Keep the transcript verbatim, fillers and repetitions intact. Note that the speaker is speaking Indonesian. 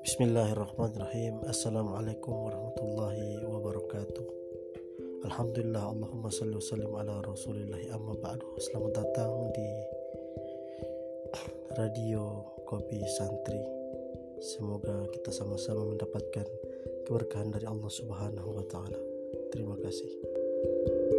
Bismillahirrahmanirrahim. Assalamualaikum warahmatullahi wabarakatuh. Alhamdulillah, Allahumma salli wa sallim ala rasulillahi amma ba'du. Selamat datang di Radio Kopi Santri. Semoga kita sama-sama mendapatkan keberkahan dari Allah Subhanahu wa taala. Terima kasih.